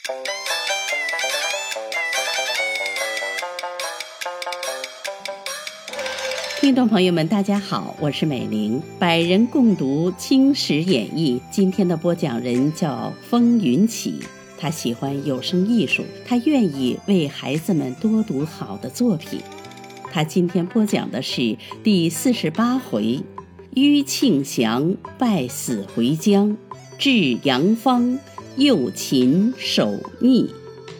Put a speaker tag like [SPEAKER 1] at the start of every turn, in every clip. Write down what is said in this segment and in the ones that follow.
[SPEAKER 1] 听众朋友们，大家好，我是美玲，百人共读《清史演义》。今天的播讲人叫风云起，他喜欢有声艺术，他愿意为孩子们多读好的作品。他今天播讲的是第48回：虞庆祥败死回疆，至阳方，诱秦守逆。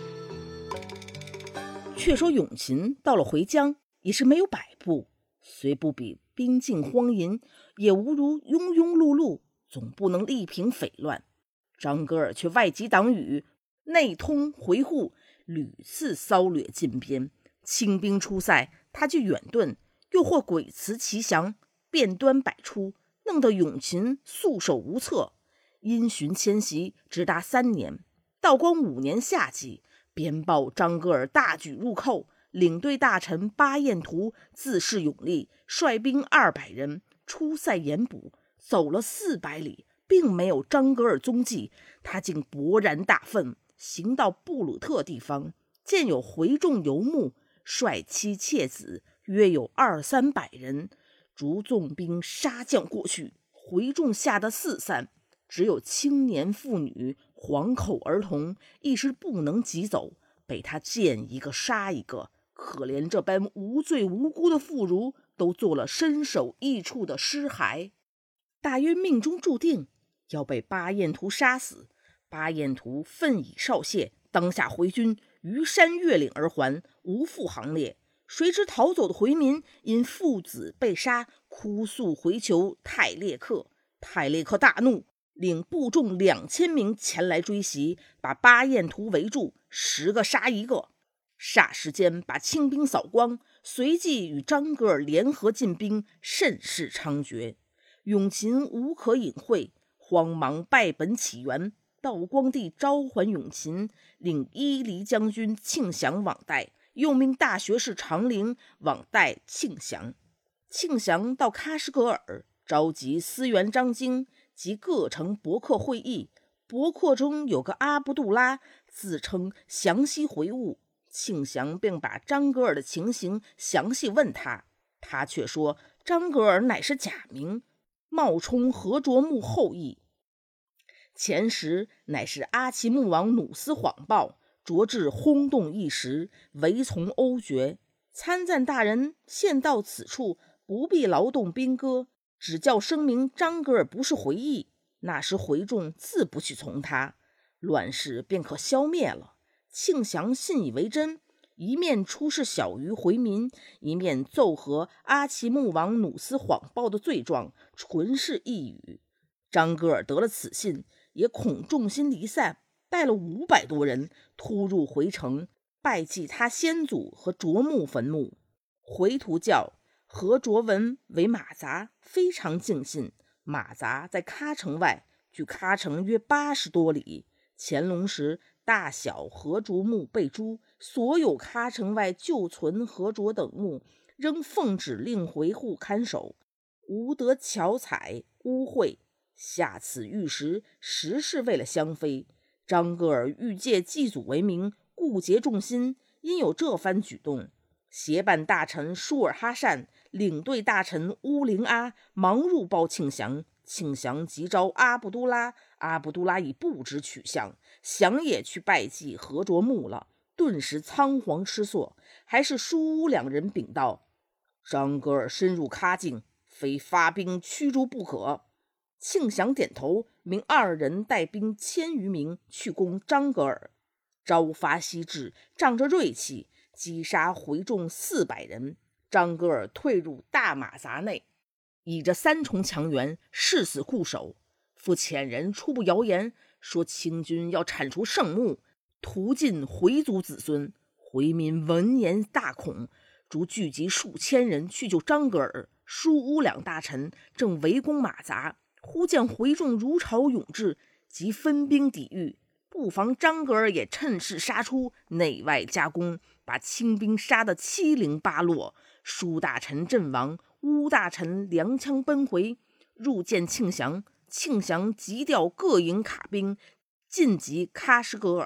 [SPEAKER 2] 却说永秦到了回疆，也是没有摆布，虽不比兵尽荒淫，也无如庸庸碌碌，总不能力平匪乱。张格尔却外集党羽，内通回护，屡次骚掠进边。清兵出塞，他就远遁，又或鬼辞其降，变端百出，弄得永秦束手无策。因循迁徙直达3年，道光5年夏季，边报张格尔大举入寇，领队大臣巴彦图自恃勇力，率兵200人出塞严捕，走了400里，并没有张格尔踪迹。他竟勃然大愤，行到布鲁特地方，见有回众游牧，率妻妾子约有200-300人，逐纵兵杀将过去。回众吓得四散，只有青年妇女、黄口儿童一时不能急走，被他见一个杀一个。可怜这般无罪无辜的妇孺，都做了身首异处的尸骸。大约命中注定要被巴彦图杀死。巴彦图愤以少谢，当下回军，于山越岭而还，无复行列。谁知逃走的回民因父子被杀，哭诉回求泰列克。泰列克大怒，领部众2000名前来追袭，把巴彦图围住，10个杀1个。霎时间把清兵扫光，随即与张格尔联合进兵，甚是猖獗。永秦无可隐晦，慌忙败本起源。道光帝召还永秦，领伊犁将军庆祥往代，又命大学士长陵往代庆祥。庆祥到喀什噶尔，召集司员张京及各城伯克会议。伯克中有个阿卜杜拉，自称详细回务。庆祥并把张格尔的情形详细问他，他却说张格尔乃是假名，冒充和卓木后裔。前时乃是阿奇木王努斯谎报，着至轰动一时，唯从欧决。参赞大人现到此处，不必劳动兵戈，只叫声明张格尔不是回忆，那时回众自不去从他，乱世便可消灭了。庆祥信以为真，一面出示小于回民，一面奏和阿奇木王努斯谎报的罪状，纯是一语。张格尔得了此信，也恐众心离散，带了500多人突入回城，拜祭他先祖和卓木坟墓。回途教和卓文为马杂，非常敬信。马杂在喀城外，距喀城约80多里。乾隆时，大小和卓墓被诛，所有喀城外旧存和卓等墓，仍奉旨令回护看守，无得巧采污秽。下此玉石，实是为了香妃。张格尔欲借祭祖为名，顾结众心，因有这番举动。协办大臣舒尔哈善、领队大臣乌灵阿忙入报庆祥。庆祥急召阿卜杜拉，阿卜杜拉已不知去向，祥也去拜祭和卓墓了，顿时仓皇失措。还是舒乌2人禀道：张格尔深入喀境，非发兵驱逐不可。庆祥点头，命2人带兵1000余名去攻张格尔。朝发夕至，仗着锐气，击杀回众400人。张格尔退入大马杂内，倚着3重墙垣，誓死固守。复遣人初步谣言，说清军要铲除圣墓，屠尽回族子孙。回民闻言大恐，逐聚集数千人去救张格尔。舒乌2大臣正围攻马杂，忽见回众如潮涌至，即分兵抵御。不妨张格尔也趁势杀出，内外夹攻，把清兵杀得七零八落。舒大臣阵亡，乌大臣踉跄奔回，入见庆祥。庆祥急调各营卡兵，进击喀什噶尔。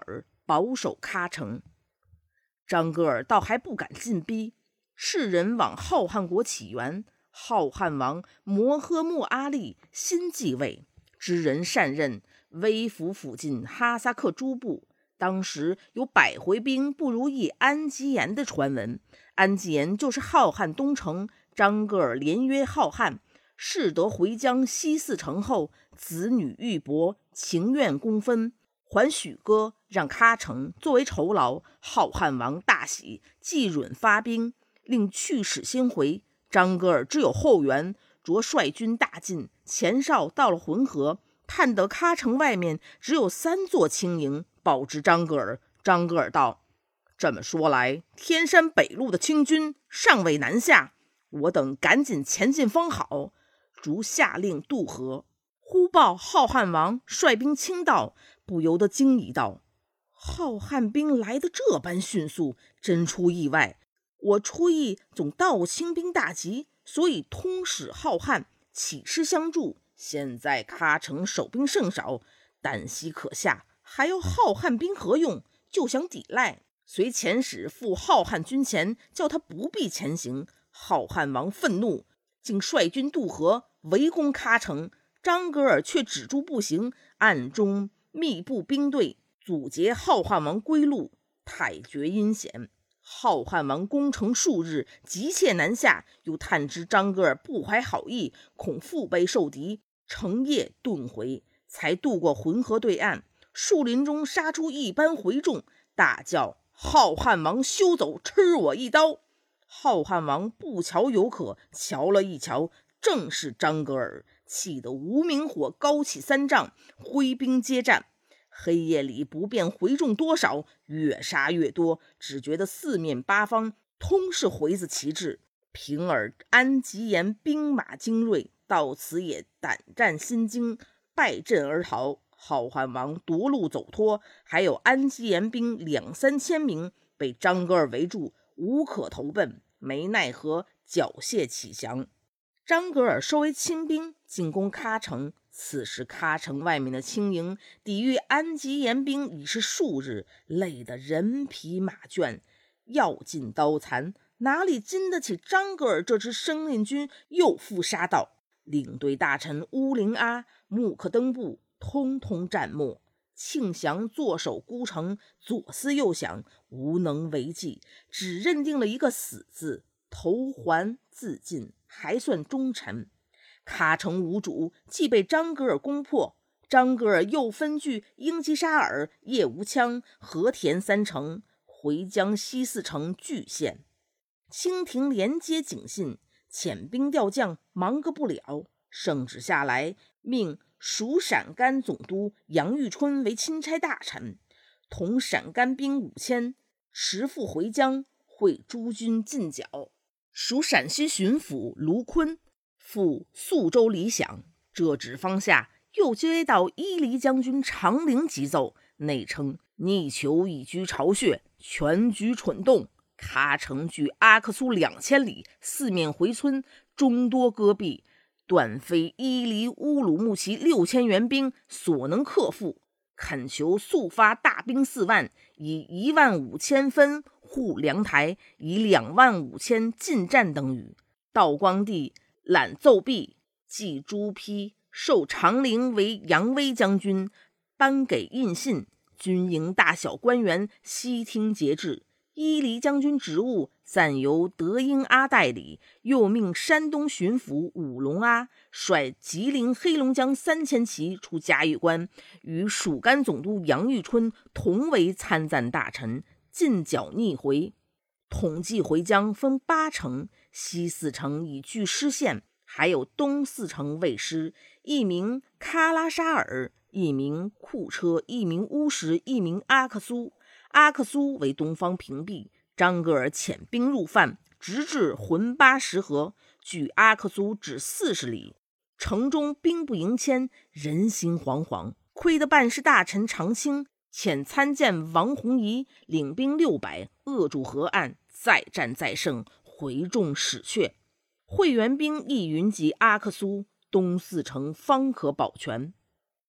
[SPEAKER 2] 保守喀城。张格尔倒还不敢进逼，世人往浩瀚国起源，浩瀚王摩诃末阿力新继位，知人善任，微服附近哈萨克诸部。当时有100回兵不如一安吉延的传闻，安吉延就是浩瀚东城。张格尔连约浩瀚，誓得回疆西4城后，子女玉帛，情愿公分，还许歌，让喀城作为酬劳。浩瀚王大喜，即允发兵，令去使先回。张格尔只有后援，着率军大进，前哨到了浑河，探得喀城外面只有3座轻营，报知张格尔。张格尔道：这么说来，天山北路的清军尚未南下，我等赶紧前进方好。逐下令渡河。忽报浩瀚王率兵倾道，不由得惊疑道：浩瀚兵来得这般迅速，真出意外。我初意总道清兵大集，所以通使浩瀚，起师相助。现在喀城守兵甚少，旦夕可下，还要浩瀚兵何用？就想抵赖，遂遣使赴浩瀚军前，叫他不必前行。浩瀚王愤怒，竟率军渡河，围攻喀城。张格尔却止住步行，暗中密布兵队，阻截浩瀚王归路，太绝阴险。浩瀚王攻城数日，急切南下，又探知张格尔不怀好意，恐腹背受敌，成夜遁回，才渡过浑河对岸。树林中杀出一班回众，大叫：浩瀚王休走，吃我一刀！浩瀚王不瞧有可，瞧了一瞧，正是张格尔，气得无名火高起3丈，挥兵接战。黑夜里不辨回众多少，越杀越多，只觉得四面八方通是回子旗帜。平儿安吉延兵马精锐，到此也胆战心惊，败阵而逃。浩瀚王夺路走脱，还有安吉延兵2-3千名被张格尔围住，无可投奔，没奈何，缴械起降。张格尔收为亲兵，进攻喀城。此时喀城外面的轻营抵御安吉延兵已是数日，累得人疲马倦，药尽刀残，哪里经得起张格尔这支生力军又复杀到。领队大臣乌灵阿、木克登布通通战没。庆祥坐守孤城，左思右想，无能为继，只认定了一个死字，投环自尽，还算忠臣。喀城无主，既被张格尔攻破，张格尔又分据英吉沙尔、叶无羌、和田3城，回疆西4城据县。清廷连接警信，遣兵调将，忙个不了。圣旨下来，命属陕甘总督杨玉春为钦差大臣，同陕甘兵5000，持赴回疆，会诸军进剿。属陕西巡抚卢坤赴宿州理想。这旨方下，又接到伊犁将军长陵急奏，内称逆囚已居巢穴，全局蠢动。喀城距阿克苏2000里，四面回村，终多戈壁，断非伊犁乌鲁木齐6000援兵所能克服，恳求速发大兵4万，以15000分护粮台，以25000进战等语。道光帝览奏毕，即朱批授长陵为扬威将军，颁给印信，军营大小官员悉听节制。伊犁将军职务暂由德英阿代理，又命山东巡抚武龙阿率吉林、黑龙江3000骑出嘉峪关，与属甘总督杨玉春同为参赞大臣，进剿逆回。统计回疆分8城，西4城已据失县，还有东4城未失，一名喀拉沙尔，一名库车，一名乌什，一名阿克苏。阿克苏为东方屏蔽，张格尔遣兵入犯，直至浑巴什河，距阿克苏只40里。城中兵不营千，人心惶惶。亏得办事大臣常卿遣参见王弘仪领兵600，扼住河岸，再战再胜，回众死却。会员兵亦云集阿克苏，东4城方可保全。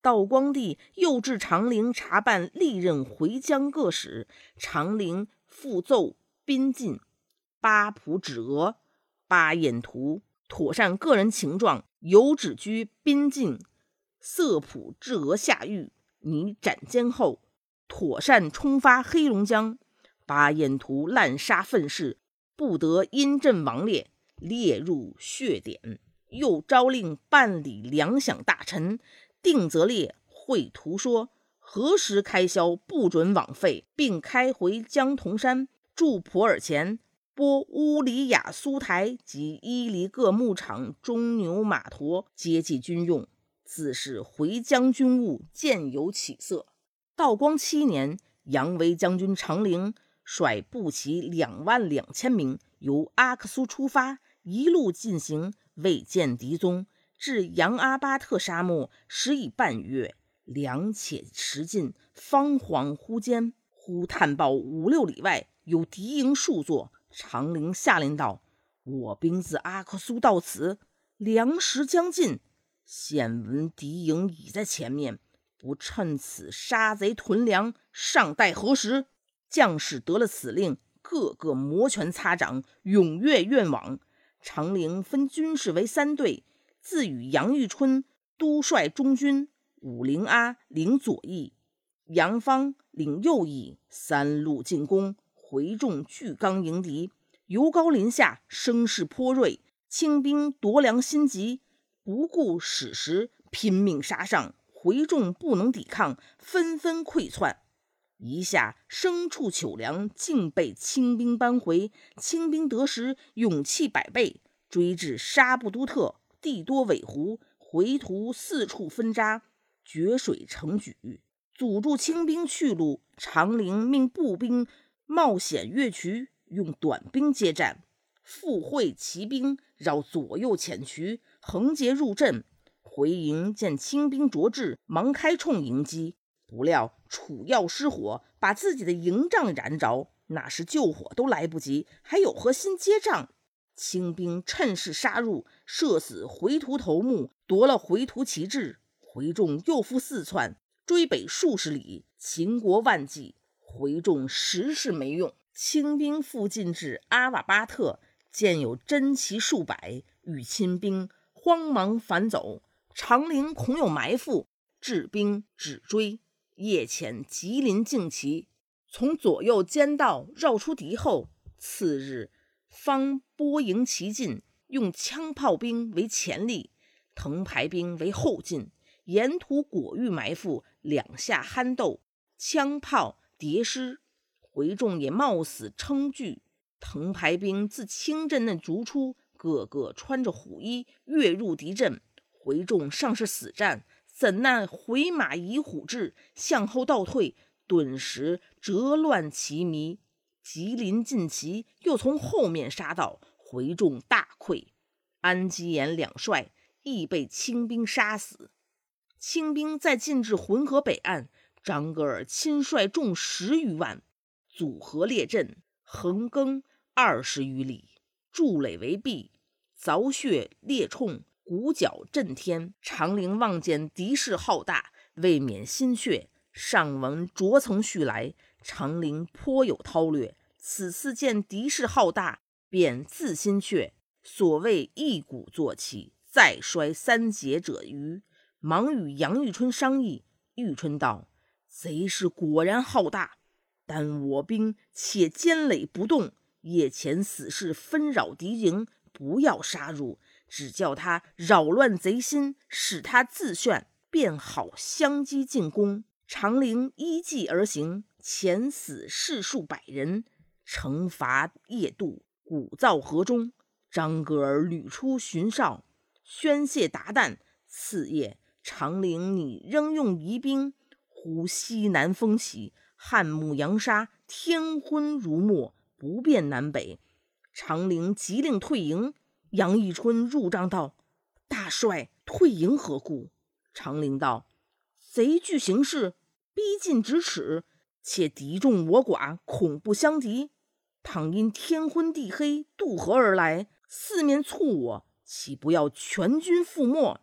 [SPEAKER 2] 道光帝又至长陵查办历任回疆各使，长陵复奏宾进，八仆指额，八眼图，妥善个人情状，有旨居宾进，色普至额下狱，拟斩监后，妥善冲发黑龙江。八眼图滥杀愤士，不得因阵亡列，列入血典。又诏令办理粮饷大臣，定则列绘图说，何时开销不准枉费，并开回江铜山，驻普洱前，拨乌里雅苏台及伊犁各牧场中牛马驮接济军用。自是回疆军务渐有起色。道光7年，杨维将军长陵率步骑22000名，由阿克苏出发，一路进行，未见敌踪，至杨阿巴特沙漠，时已半月，粮且食尽，方恍惚间，忽探报5、6里外有敌营数座。长陵下令道：我兵自阿克苏到此，粮食将尽，现闻敌营已在前面，不趁此杀贼屯粮，尚待何时？将士得了此令，个个摩拳擦掌，踊跃愿往。长陵分军士为3队，自与杨玉春督率中军，武陵阿领左翼，杨芳领右翼，3路进攻，回众巨刚迎敌，由高临下，声势颇锐。清兵夺粮心急，不顾矢石，拼命杀上，回众不能抵抗，纷纷溃窜。一下牲畜糗粮竟被清兵扳回，清兵得时勇气百倍，追至沙布都特，地多尾湖，回途四处分扎，决水成举，阻住清兵去路。长陵命步兵冒险越渠，用短兵接战，复会骑兵绕左右潜渠，横截入阵。回营见清兵着至，忙开冲迎击，不料楚药失火，把自己的营帐燃着，那时救火都来不及，还有何心接仗？清兵趁势杀入，射死回途头目，夺了回途旗帜。回众又复4窜，追北数十里，秦国万计，回众实是没用。清兵复进至阿瓦巴特，见有真骑数百，与清兵慌忙反走。长陵恐有埋伏，治兵止追，夜潜吉林旌旗，从左右间道绕出敌后。次日方拨营齐进，用枪炮兵为前力，藤牌兵为后进，沿途果遇埋伏，两下酣斗，枪炮迭失。回众也冒死称惧，藤牌兵自清阵内逐出，个个穿着虎衣跃入敌阵。回众尚是死战，怎奈回马以虎至，向后倒退，顿时折乱旗迷。吉林进旗又从后面杀到，回众大溃。安基延2帅亦被清兵杀死。清兵再进至浑河北岸，张格尔亲率众10余万，组合列阵，横更20余里，筑垒为壁，凿穴裂冲，鼓角震天。长陵望见敌势浩大，未免心怯，上闻着曾续来，长陵颇有韬略。此次见敌势浩大，便自心怯，所谓一鼓作气，再衰3节者余。忙与杨玉春商议，玉春道：贼势果然浩大，但我兵且坚垒不动，夜潜死士纷扰敌营，不要杀入，只叫他扰乱贼心，使他自眩，便好相机进攻。长陵依计而行，潜死士数百人，惩罚夜渡，鼓噪河中。张格尔屡出巡哨，宣泄达旦。次夜长陵拟仍用疑兵，忽西南风起，汉牧扬沙，天昏如墨，不辨南北。长陵急令退营。杨义春入帐道：大帅，退营何故？长陵道：贼据形势，逼近咫尺，且敌众我寡，恐不相敌。倘因天昏地黑渡河而来，四面促我，岂不要全军覆没？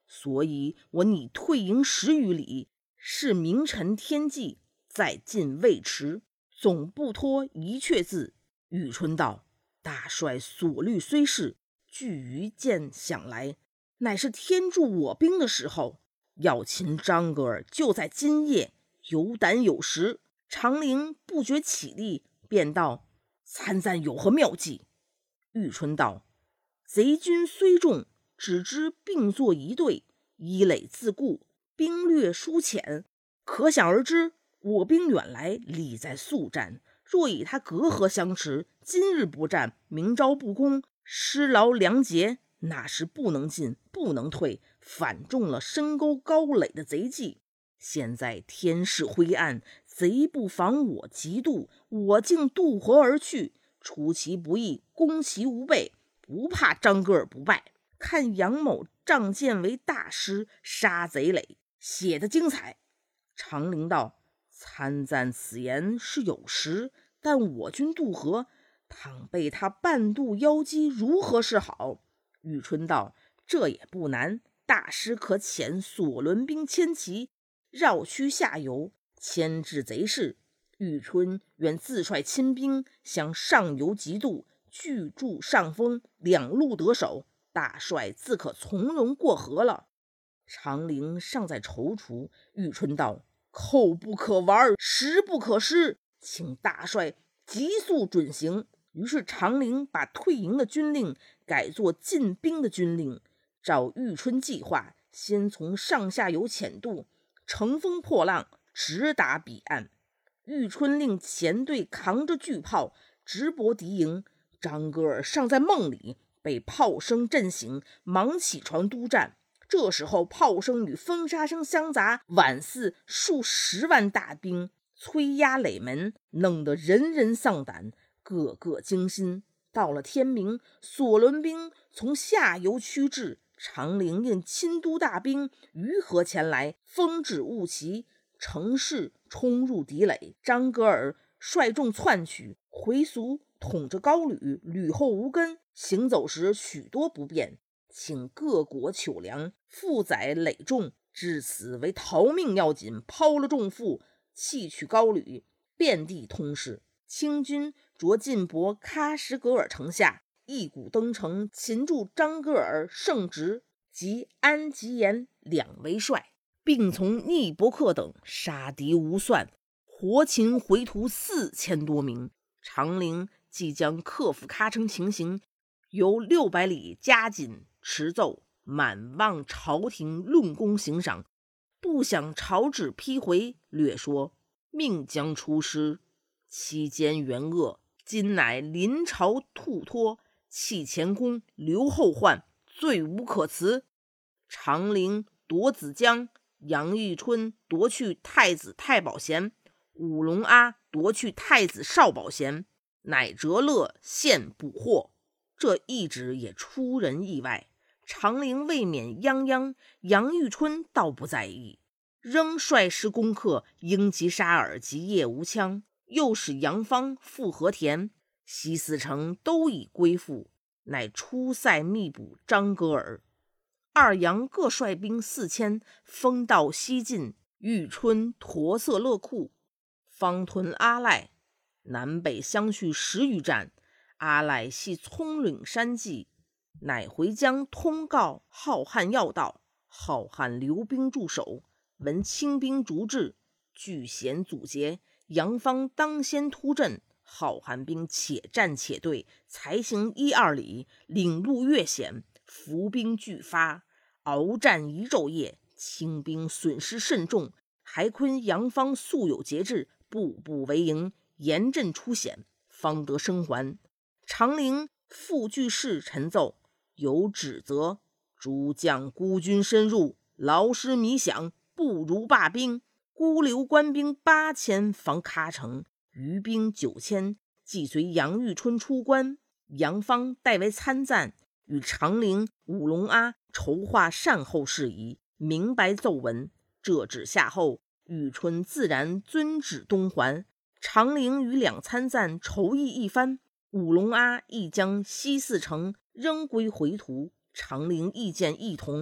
[SPEAKER 2] 所以我拟退营10余里，是明臣天际，再进未迟，总不脱一阙字。宇春道：大帅所虑虽是，据于见想来，乃是天助我兵的时候。要擒张格尔就在今夜，有胆有识。长陵不觉起立，便道：参赞有何妙计？玉春道：贼军虽众，只知并作一队，依垒自固，兵略疏浅，可想而知，我兵远来，理在速战。若以他隔河相持，今日不战，明朝不攻，失劳粮竭，那时不能进，不能退，反中了深沟高垒的贼计。现在天势灰暗，贼不防我急渡，我竟渡河而去，出其不意，攻其无备，不怕张格尔不败。看杨某仗剑为大师，杀贼垒，写得精彩。长陵道：参赞此言是有实，但我军渡河，倘被他半渡邀击，如何是好？宇春道：这也不难，大师可遣索伦兵千骑，绕区下游，牵制贼势。宇春愿自率亲兵，向上游急渡，拒筑上风，两路得手，大帅自可从容过河了。长陵尚在踌躇，宇春道：口不可玩，实不可失，请大帅急速准行。于是长陵把退营的军令改作进兵的军令，照玉春计划，先从上下游潜渡，乘风破浪，直达彼岸。玉春令前队扛着巨炮直搏敌营，张格尔尚在梦里，被炮声震醒，忙起床督战。这时候炮声与风沙声相杂，宛似数10万大兵催压垒门，弄得人人丧胆，个个惊心。到了天明，索伦兵从下游驱至，长陵应亲督大兵于河前来，风止雾旗，乘势冲入敌垒。张格尔率众窜去，回族统着高旅，旅后无根，行走时许多不便，请各国求粮，负载累重，至此为逃命要紧，抛了重负，弃取高旅，遍地通事。清军着进博喀什噶尔城下，一鼓登城，擒住张格尔、盛直及安吉延2为帅，并从聂伯克等杀敌无算，活擒回徒4000多名。长陵即将克服喀城情形，由600里加紧持奏，满望朝廷论功行赏。不想朝旨批回，略说命将出师，期间元恶，今乃临朝吐脱，弃前功，留后患，罪无可辞。长陵夺子江，杨玉春夺去太子太保衔，武龙阿夺去太子少保衔，乃折勒现捕获。这一旨也出人意外，长陵未免泱泱，杨玉春倒不在意，仍率师攻克英吉沙尔及叶无羌，又使杨芳、傅和田、西四城都已归附，乃出塞密捕张格尔。二杨各率兵4000，封到西进，玉春驼色勒库，方屯阿赖，南北相续10余战。阿赖系葱岭山计，乃回江通告浩瀚要道，浩瀚留兵驻守，闻清兵逐至，据险阻截，杨芳当先突阵，浩瀚兵且战且退，才行1、2里，领路越险，伏兵俱发，鏖战1昼夜，清兵损失甚重。还昆杨芳素有节制，步步为营，严阵出险，方得生还。长陵复据事陈奏，有指责诸将孤军深入，劳师弥饷，不如罢兵，孤留官兵8000防喀城，余兵9000，即随杨玉春出关。杨芳代为参赞，与长陵、武龙阿筹划善后事宜，明白奏文。这旨下后，玉春自然遵旨东还。长陵与两参赞筹议一番，武龙阿亦将西四城仍归回途，长陵意见异同。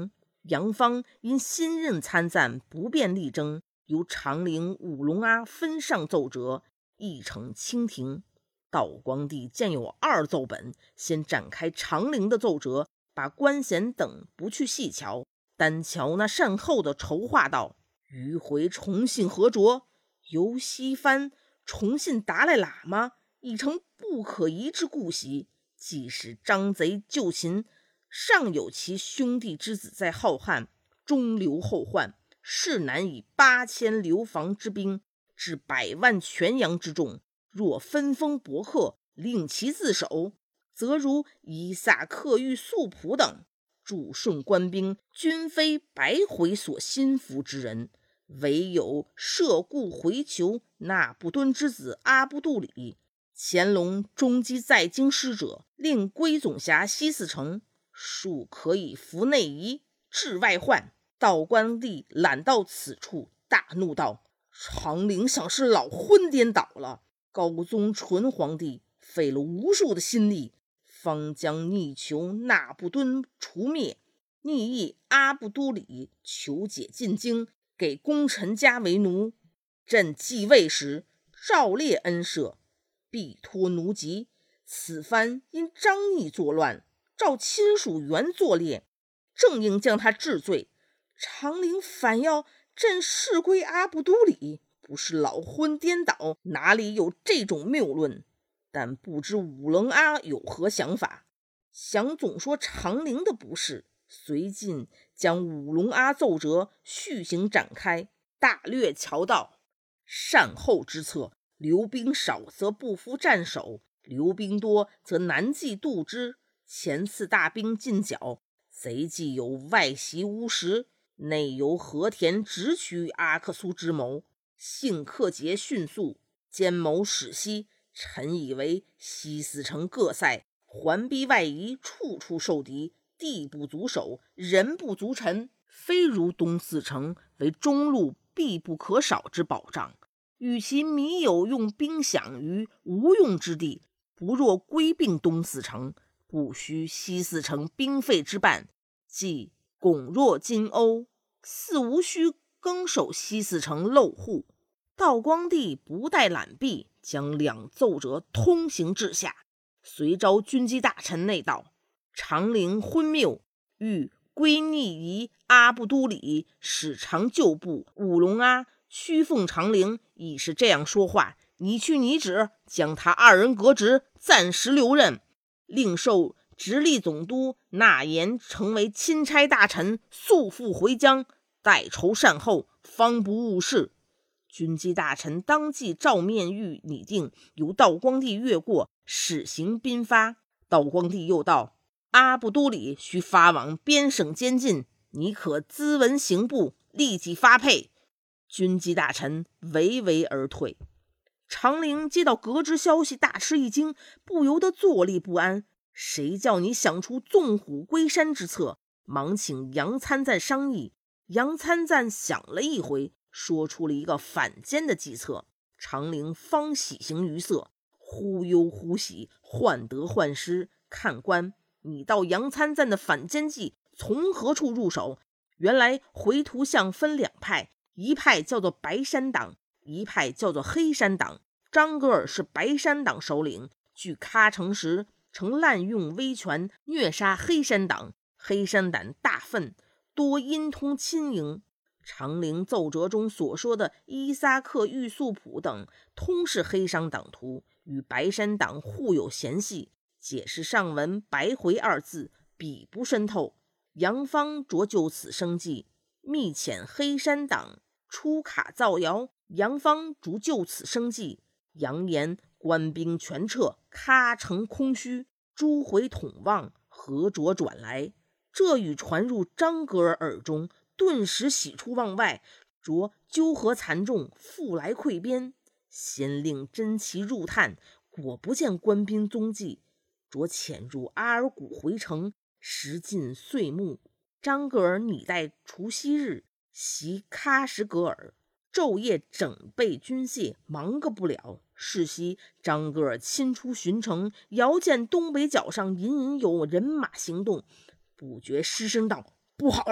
[SPEAKER 2] 杨芳因新任参赞不便力争，由长陵、五龙阿分上奏折，议呈清廷。道光帝见有二奏本，先展开长陵的奏折，把官衔等不去细瞧，单瞧那善后的筹划道：迂回重信合着，由西藩重信达赖喇嘛，已成不可移之故习。即使张贼救秦，尚有其兄弟之子在浩瀚，中流后患，是难以8000流防之兵，至100万全洋之众。若分封伯克，令其自守，则如伊萨克玉素普等驻顺官兵，均非白回所心服之人，唯有涉故回求那不敦之子阿不杜里。乾隆中击在京师者，令归总辖西四城，庶可以服内夷，治外患。道光帝览到此处，大怒道：长陵想是老昏颠倒了。高宗纯皇帝费了无数的心力，方将逆囚那不敦除灭，逆意阿不都里求解进京，给功臣家为奴。朕继位时，诏列恩赦，必托奴籍。此番因张逆作乱，召亲属原作列，正应将他治罪。长陵反要朕事归阿不都里，不是老昏颠倒，哪里有这种谬论？但不知五棱阿有何想法？想总说长陵的不是，随进将五龙阿奏折续行展开，大略瞧到善后之策，留兵少则不服战守，留兵多则难计度之。前次大兵进剿，贼既有外袭乌石，内由和田直取阿克苏之谋，幸克节迅速，奸谋始息。臣以为西四城各塞环逼外夷，处处受敌，地不足守，人不足陈，非如东四城为中路必不可少之保障。与其迷有用兵饷于无用之地，不若归并东四城，不须西四城兵费之半，即拱若金瓯，似无需更守西四城漏户。道光帝不待览毕，将两奏折通行至下，随召军机大臣内道：长陵昏谬，欲归逆夷阿不都里，使长旧部五龙阿屈奉长陵，已是这样说话。你去拟旨，将他二人革职，暂时留任，另授直隶总督纳言成为钦差大臣，速赴回疆，待筹善后，方不误事。军机大臣当即照面谕拟定，由道光帝阅过，始行兵发。道光帝又道：阿不都里需发往边省监禁，你可咨文刑部，立即发配。军机大臣唯唯而退。长陵接到革职消息，大吃一惊，不由得坐立不安。谁叫你想出纵虎归山之策？忙请杨参赞商议。杨参赞想了一回，说出了一个反间的计策。长陵方喜形于色，忽忧忽喜，患得患失。看官，你道杨参赞的反间计从何处入手？原来回图像分两派，一派叫做白山党，一派叫做黑山党。张格尔是白山党首领，据喀城时曾滥用威权，虐杀黑山党，黑山党大愤，多阴通亲营。长陵奏折中所说的伊萨克玉素普等，通是黑山党徒，与白山党互有嫌隙。解释上文白回二字，笔不渗透。杨芳着就此生计，密遣黑山党出卡造谣，杨芳逐就此生计，扬言官兵全撤，喀城空虚，诸回统望，何着转来。这语传入张格尔耳中，顿时喜出望外，着纠合残众，复来溃边。先令真奇入探，果不见官兵踪迹，着潜入阿尔古回城，时近岁暮。张格尔拟待除夕日袭喀什格尔，昼夜整备军械，忙个不了。是夕，张格尔亲出巡城，遥见东北角上隐隐有人马行动，不觉失声道：不好了，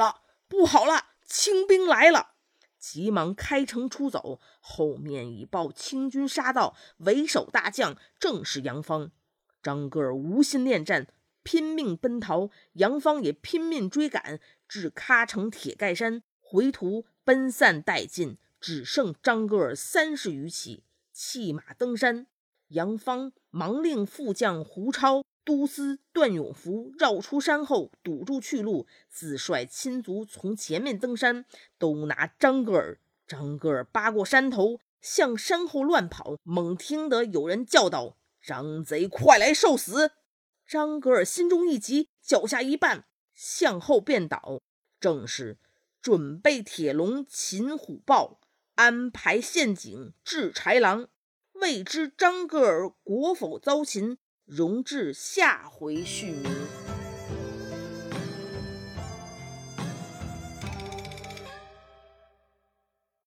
[SPEAKER 2] 不好了，清兵来了！急忙开城出走，后面已报清军杀到，为首大将正是杨芳。张格尔无心恋战，拼命奔逃，杨芳也拼命追赶，至喀城铁盖山，回途奔散殆尽，只剩张格尔30余骑，弃马登山。杨芳忙令副将胡超、都司段永福绕出山后，堵住去路，自率亲族从前面登山，都拿张格尔。张格尔扒过山头，向山后乱跑，猛听得有人叫道：张贼快来受死！张格尔心中一急，脚下一绊，向后便倒。正是准备铁笼擒虎豹，安排陷阱治豺狼。未知张格尔国否遭擒，容至下回续明。